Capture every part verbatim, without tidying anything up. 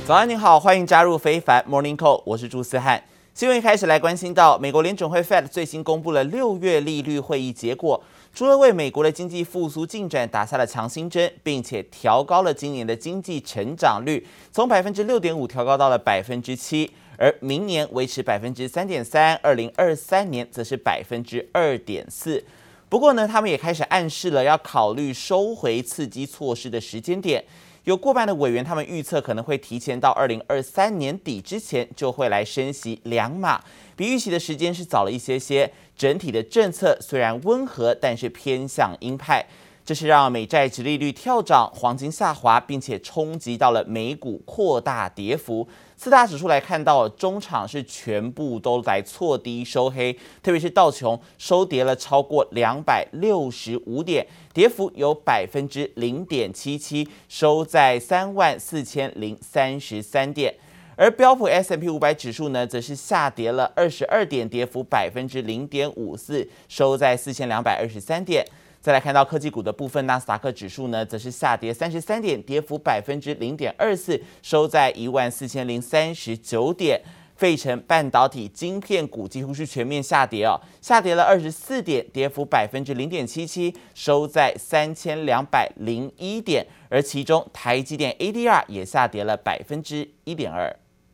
早安，您好，歡迎加入非凡 Morning Call， 我是朱思翰。新聞一開始來關心到，美國聯準會 Fed 最新公布了六月利率會議結果，除了為美國的經濟復甦進展打下了強心針，並且調高了今年的經濟成長率，從百分之六點五調高到了百分之七，而明年維持百分之三點三，二零二三年則是百分之二點四。不過呢，他們也開始暗示了要考慮收回刺激措施的時間點。有過半的委員，他們預測可能會提前到二零二三年底之前就會來升息兩碼，比預期的時間是早了一些些。整體的政策雖然溫和，但是偏向鷹派，這是讓美債殖利率跳漲，黃金下滑，並且衝擊到了美股擴大跌幅。四大指數來看到，中場是全部都來挫低收黑，特別是道瓊收跌了超過兩百六十五點，跌幅有百分之零點七七，收在三萬四千零三十三點。而標普 S and P 五百指數呢，則是下跌了二十二點，跌幅百分之零點五四，收在四千两百二十三點。再來看到科技股的部分，納斯達克指數呢，則是下跌三十三點，跌幅百分之零點二四，收在一萬四千零三十九點。費城半導體晶片股幾乎是全面下跌哦，下跌了二十四點，跌幅百分之零點七七，收在三千两百零一點。而其中台積電 A D R 也下跌了百分之一點二。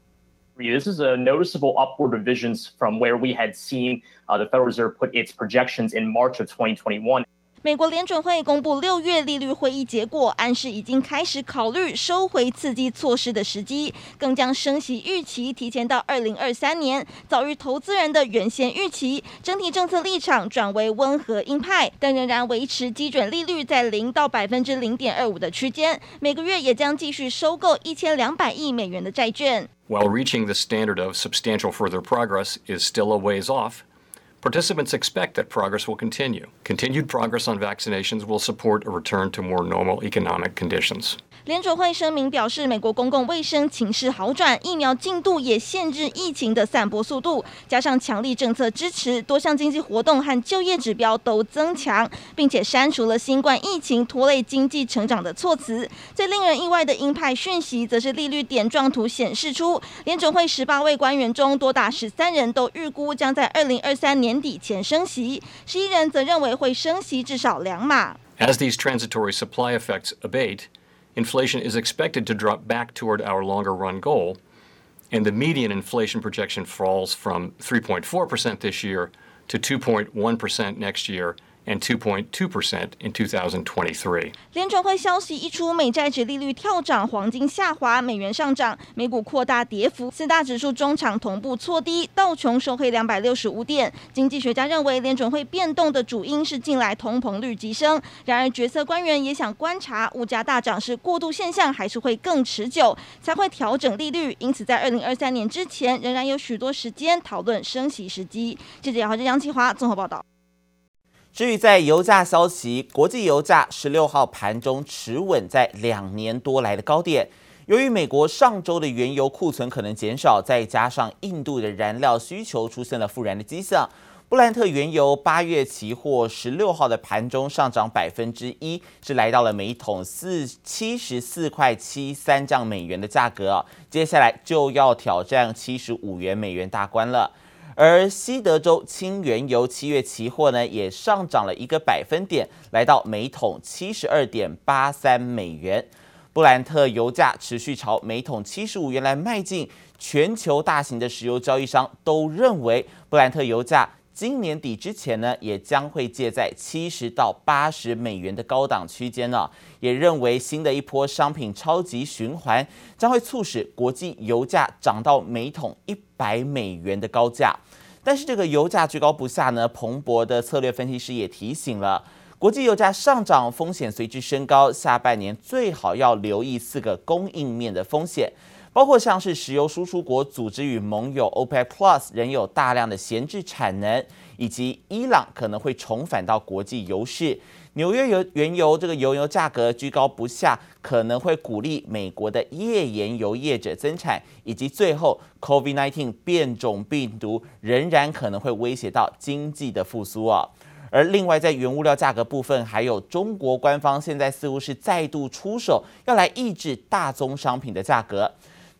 This is a noticeable upward revisions from where we had seen uh, the Federal Reserve put its projections in March of twenty twenty-one. 美國聯準會公布六月利率會議結果，暗示已經開始考慮收回刺激措施的時機，更將升息預期提前到二零二三年，早於投資人的原先預期。整體政策立場轉為溫和鷹派，但仍然維持基準利率在零到百分之零點二五的區間。每個月也將繼續收購一千兩百億美元的債券。 While reaching the standard of substantial further progress is still a ways off, participants expect that progress will continue. Continued progress on vaccinations will support a return to more normal economic conditions. 聯準會聲明表示，美國公共衛生情勢好轉，疫苗進度也限制疫情的散播速度，加上強力政策支持，多項經濟活動和就業指標都增強，並且刪除了新冠疫情拖累經濟成長的措辭。最令人意外的鷹派訊息，則是利率點狀圖顯示出，聯準會十八位官員中，多達十三人都預估將在二零二三年底前升息，十一人則認為會升息至少兩碼。 As these transitory supply effects abate, inflation is expected to drop back toward our longer-run goal, and the median inflation projection falls from three point four percent this year to two point one percent next year, and two point two percent in two thousand twenty-three. 聯準會消息一出，美債殖利率跳漲，黃金下滑，美元上漲，美股擴大跌幅，四大指數中場同步挫低，道瓊收黑兩百六十五點。經濟學家認為，聯準會變動的主因是近來通膨率急升。然而，決策官員也想觀察物價大漲是過渡現象，還是會更持久，才會調整利率。因此，在二零二三年之前，仍然有許多時間討論升息時機。記者姚浩哲、楊啟華綜合報道。 至於在油價消息，國際油價十六號盤中持穩在兩年多來的高點。由於美國上周的原油庫存可能減少，再加上印度的燃料需求出現了復燃的跡象，布蘭特原油八月期貨十六號的盤中上漲百分之一，是來到了每桶四七十四塊七三這樣美元的價格啊，接下來就要挑戰七十五元美元大關了。而西德州輕原油七月期貨呢，也上漲了一個百分點，來到每桶七十二點八三美元。布蘭特油價持續朝每桶七十五元來邁進，全球大型的石油交易商都認為，布蘭特油價今年底之前呢，也將會介在七十到八十美元的高檔區間呢。也認為新的一波商品超級循環將會促使國際油價漲到每桶一百美元的高價。但是這個油價居高不下呢，彭博的策略分析師也提醒了，國際油價上漲風險隨之升高，下半年最好要留意四個供應面的風險。包括像是石油輸出國組織與盟友 OPEC Plus 仍有大量的閒置產能，以及伊朗可能會重返到國際油市。紐約油原油這個油油價格居高不下，可能會鼓勵美國的頁岩油業者增產，以及最後 COVID 十九 變種病毒仍然可能會威脅到經濟的復甦啊。而另外，在原物料價格部分，還有中國官方現在似乎是再度出手，要來抑制大宗商品的價格。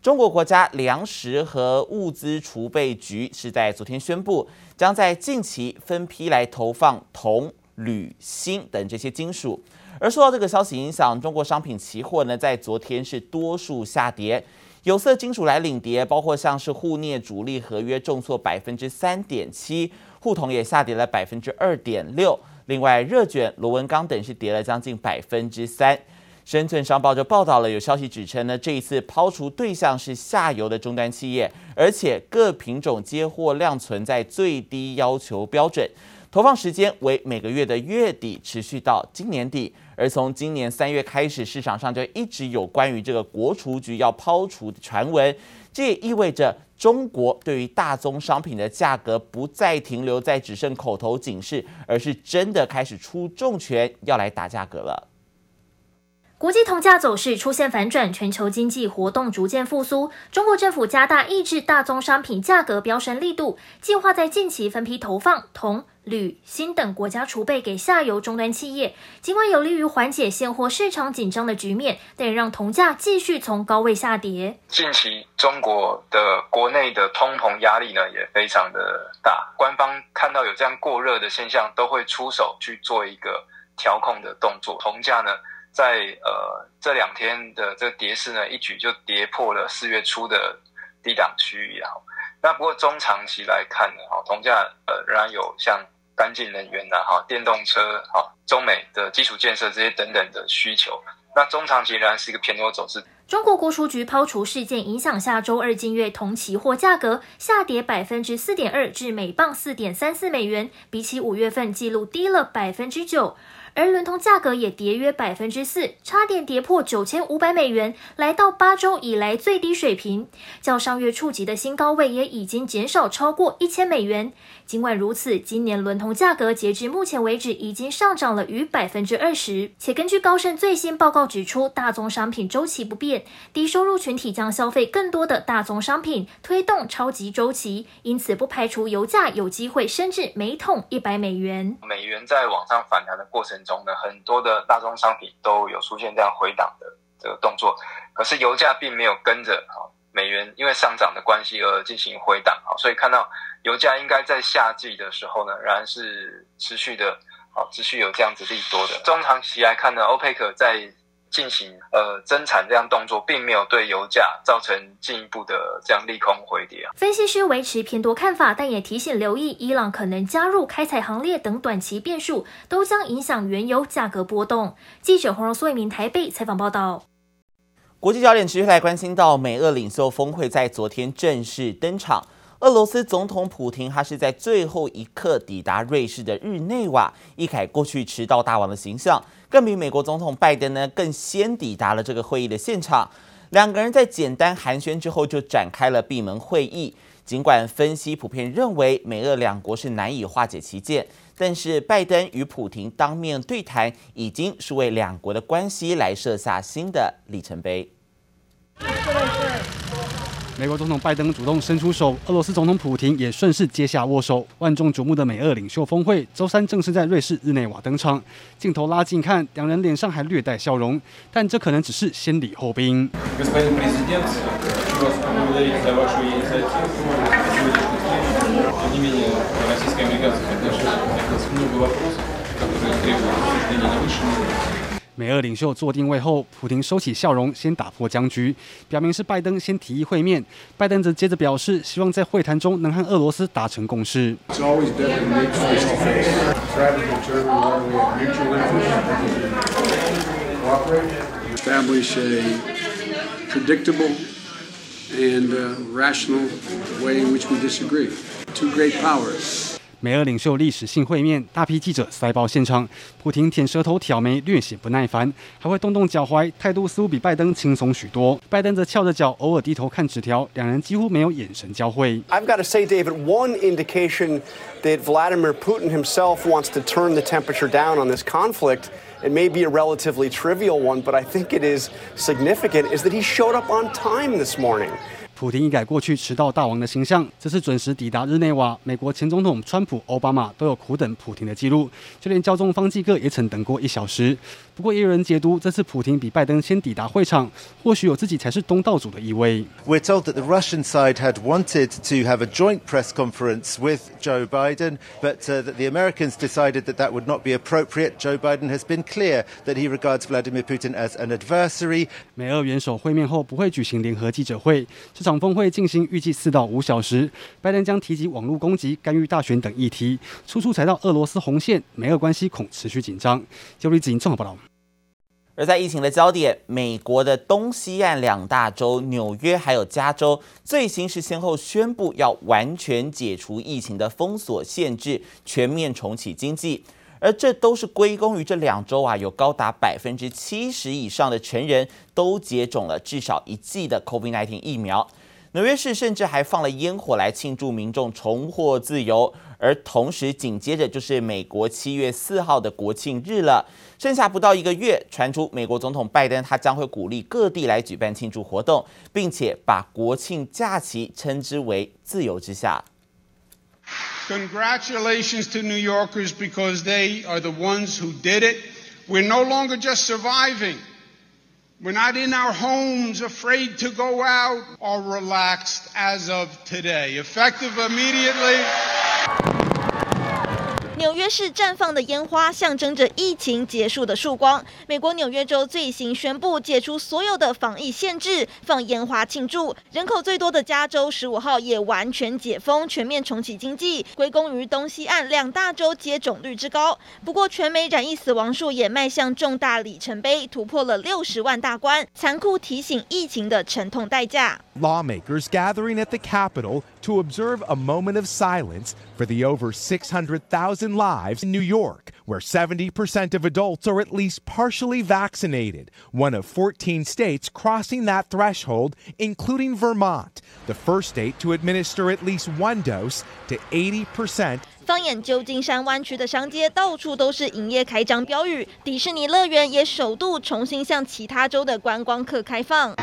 中國國家糧食和物資儲備局是在昨天宣布，將在近期分批來投放銅、鋁、鋅等這些金屬。而受到這個消息影響，中國商品期貨呢在昨天是多數下跌，有色金屬來領跌，包括像是滬鎳主力合約重挫百分之三點七，滬銅也下跌了百分之二點六。另外，熱卷、螺紋鋼等是跌了將近百分之三。深圳商報就報道了，有消息指稱呢，這一次拋除對象是下游的終端企業，而且各品種接貨量存在最低要求標準，投放時間為每個月的月底，持續到今年底。而從今年三月開始，市場上就一直有關於這個國儲局要拋除的傳聞，這也意味着中國對於大宗商品的價格不再停留在只剩口頭警示，而是真的開始出重拳要來打價格了。 國際銅價走勢出現反轉，全球經濟活動逐漸復甦。中國政府加大抑制大宗商品價格飆升力度，計劃在近期分批投放銅、鋁、鋅等國家儲備給下游終端企業。儘管有利於緩解現貨市場緊張的局面，但也讓銅價繼續從高位下跌。 近期中國的國內的通膨壓力呢也非常的大，官方看到有這樣過熱的現象，都會出手去做一個調控的動作。銅價呢，在呃這兩天的這個跌勢呢，一舉就跌破了四月初的低檔區域啊。那不過中長期來看呢，哈，銅價呃仍然有像乾淨能源吶、啊、哈、電動車、哈、中美的基礎建設這些等等的需求。那中長期仍然是一個偏多走勢。 中國國儲局拋除事件影響下，周二近月銅期貨價格下跌百分之四點二，至每磅四點三四美元，比起五月份記錄低了百分之九。而倫銅價格也跌約百分之四，差點跌破九千五百美元，來到八周以來最低水平。較上月觸及的新高位也已經減少超過一千美元。儘管如此，今年倫銅價格截至目前為止已經上漲了逾百分之二十。且根據高盛最新報告指出，大宗商品週期不變，低收入群體將消費更多的大宗商品，推動超級週期，因此不排除油價有機會升至每桶一百美元。 美元在往上反彈的過程中呢，很多的大宗商品都有出現這樣回檔的這個動作，可是油價並沒有跟着美元因為上漲的關係而進行回檔，所以看到油價應該在夏季的時候呢，仍然是持續的，持續有這樣子利多的。中長期來看呢，歐佩克在進行呃增產這樣動作，並沒有對油價造成進一步的這樣利空回跌啊。 分析師維持偏多看法，但也提醒留意伊朗可能加入開採行列等短期變數，都將影響原油價格波動。記者黃榮蘇一名台北採訪報道。 國際焦點持續來關心到美俄領袖峰會在昨天正式登場。俄羅斯總統普亭他是在最後一刻抵達瑞士的日內瓦，一改過去遲到大王的形象，更比美國總統拜登呢更先抵達了這個會議的現場。兩個人在簡單寒暄之後就展開了閉門會議。儘管分析普遍認為美俄兩國是難以化解歧見，但是拜登與普亭當面對談已經是為兩國的關係來設下新的里程碑。 美國總統拜登主動伸出手，俄羅斯總統普亭也順勢接下握手。萬眾矚目的美俄領袖峰會，週三正式在瑞士日內瓦登場。鏡頭拉近看，兩人臉上還略帶笑容，但這可能只是先禮後兵。美俄領袖坐定位後，普亭收起笑容，先打破僵局，表明是拜登先提議會面。拜登則接着表示，希望在會談中能和俄羅斯達成共識。美俄領袖歷史性會面，大批記者塞爆現場。普亭舔舌頭、挑眉，略顯不耐煩，還會動動腳踝，態度似乎比拜登輕鬆許多。拜登則翹着腳，偶爾低頭看紙條，兩人幾乎沒有眼神交匯。 I've got to say, David, one indication that Vladimir Putin himself wants to turn the temperature down on this conflict, it may be a relatively trivial one, but I think it is significant, is that he showed up on time this morning. 普丁一改過去遲到大王的形象，這次準時抵達日內瓦，美國前總統川普、奧巴馬都有苦等普丁的記錄，就連教宗方濟各也曾等過一小時。不過也有人解讀，這次普丁比拜登先抵達會場，或許有自己才是東道主的意味。 We're told that the Russian side had wanted to have a joint press conference with Joe Biden, but uh, that the Americans decided that that would not be appropriate. Joe Biden has been clear that he regards Vladimir Putin as an adversary. 美俄元首會面後不會舉行聯合記者會，這場峰會進行預計四到五小時。拜登將提及網絡攻擊、干預大選等議題，處處踩到俄羅斯紅線，美俄關係恐持續緊張。九里子瑩綜合報道。 而在疫情的焦點，美國的東西岸兩大州紐約還有加州，最新是先後宣布要完全解除疫情的封鎖限制，全面重啟經濟。而這都是歸功於這兩州啊，有高達百分之七十以上的成人都接種了至少一劑的 COVID 十九 疫苗。紐約市甚至還放了煙火來慶祝民眾重獲自由，而同時緊接着就是美國七月四號的國慶日了。剩下不到一個月，傳出美國總統拜登他將會鼓勵各地來舉辦慶祝活動，並且把國慶假期稱之為自由之夏。 Congratulations to New Yorkers because they are the ones who did it. We're no longer just surviving. We're not in our homes afraid to go out or relaxed as of today. Effective immediately. 紐約市綻放的煙花象徵着疫情結束的曙光。美國紐約州最新宣布解除所有的防疫限制，放煙花慶祝。人口最多的加州十五號也完全解封，全面重啟經濟，歸功於東西岸兩大州接種率之高。不過，全美染疫死亡數也邁向重大里程碑，突破了六十萬大關，殘酷提醒疫情的沉痛代價。 Lawmakers gathering at the Capitol to observe a moment of silence for the over six hundred thousand lives in New York, where seventy percent of adults are at least partially vaccinated, one of fourteen states crossing that threshold, including Vermont, the first state to administer at least one dose to eighty percent. 放眼舊金山灣區的商街，到處都是營業開張標語，迪士尼樂園也首度重新向其他州的觀光客開放。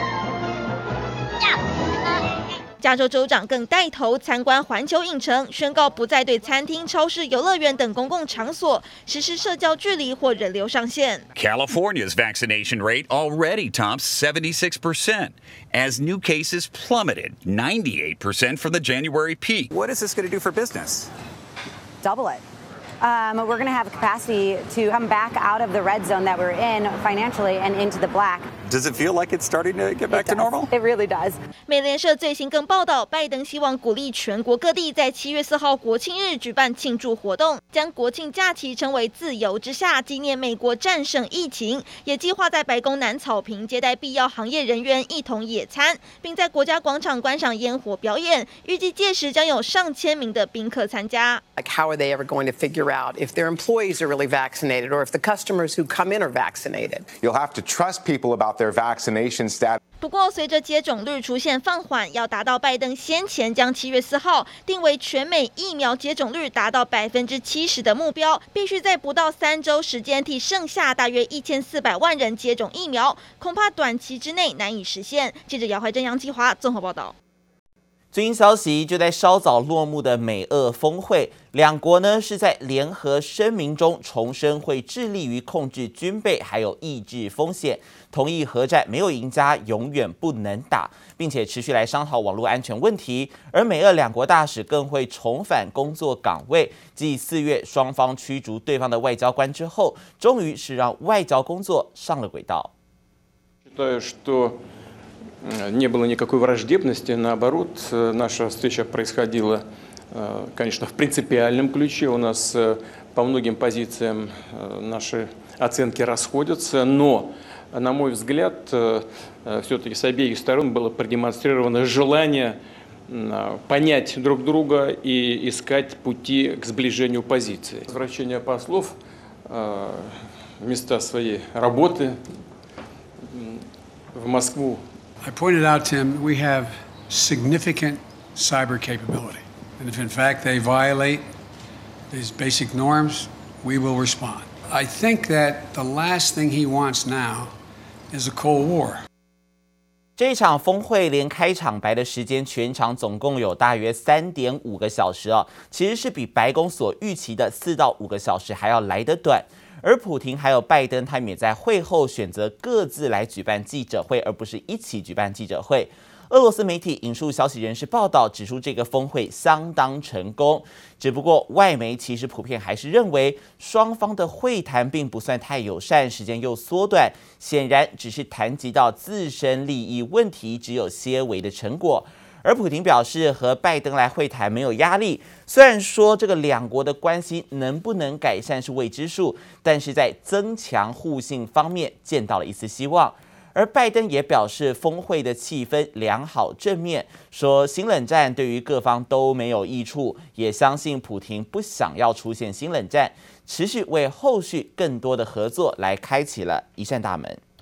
加州州長更帶頭參觀環球影城，宣告不再對餐廳、超市、遊樂園等公共場所實施社交距離或人流上限。 California's vaccination rate already tops seventy-six percent as new cases plummeted ninety-eight percent from the January peak. What is this going to do for business? Double it. Um, we're going to have capacity to come back out of the red zone that we're in financially and into the black. Does it feel like it's starting to get back to normal? It really does. 美聯社最新更報道，拜登希望鼓勵全國各地在七月四號國慶日舉辦慶祝活動，將國慶假期稱為自由之夏，紀念美國戰勝疫情。也計劃在白宮南草坪接待必要行業人員一同野餐，並在國家廣場觀賞煙火表演。預計屆時將有上千名的賓客參加。 Like, how are they ever going to figure out if their employees are really vaccinated or if the customers who come in are vaccinated? You'll have to trust people about their vaccination status. 不過，隨着接種率出現放緩，要達到拜登先前將七月四號定為全美疫苗接種率達到百分之七十的目標，必須在不到三週時間替剩下大約一千四百萬人接種疫苗，恐怕短期之內難以實現。記者姚懷珍、楊繼華綜合報道。 最新消息，就在稍早落幕的美俄峰會，兩國呢是在聯合聲明中重申會致力於控制軍備，還有抑制風險，同意核戰沒有贏家，永遠不能打，並且持續來商討網絡安全問題。而美俄兩國大使更會重返工作崗位，繼四月雙方驅逐對方的外交官之後，終於是讓外交工作上了軌道。 Не было никакой враждебности, наоборот, наша встреча происходила, конечно, в принципиальном ключе. У нас по многим позициям наши оценки расходятся, но, на мой взгляд, все-таки с обеих сторон было продемонстрировано желание понять друг друга и искать пути к сближению позиций. Возвращение послов в места своей работы в Москву. I pointed out to him we have significant cyber capability, and if in fact they violate these basic norms, we will respond. I think that the last thing he wants now is a Cold War. 這一場峰會連開場白的時間全長總共有大約三點五個小時哦，其實是比白宮所預期的四到五個小時還要來得短。而普亭還有拜登，他們也在會後選擇各自來舉辦記者會，而不是一起舉辦記者會。俄羅斯媒體引述消息人士報道，指出這個峰會相當成功。只不過外媒其實普遍還是認為，雙方的會談並不算太友善，時間又縮短，顯然只是談及到自身利益問題，只有些微的成果。而普亭表示，和拜登來會談沒有壓力。雖然說這個兩國的關係能不能改善是未知數，但是在增強互信方面見到了一絲希望。而拜登也表示，峰會的氣氛良好正面，說新冷戰對於各方都沒有益處，也相信普亭不想要出現新冷戰，持續為後續更多的合作來開啟了一扇大門。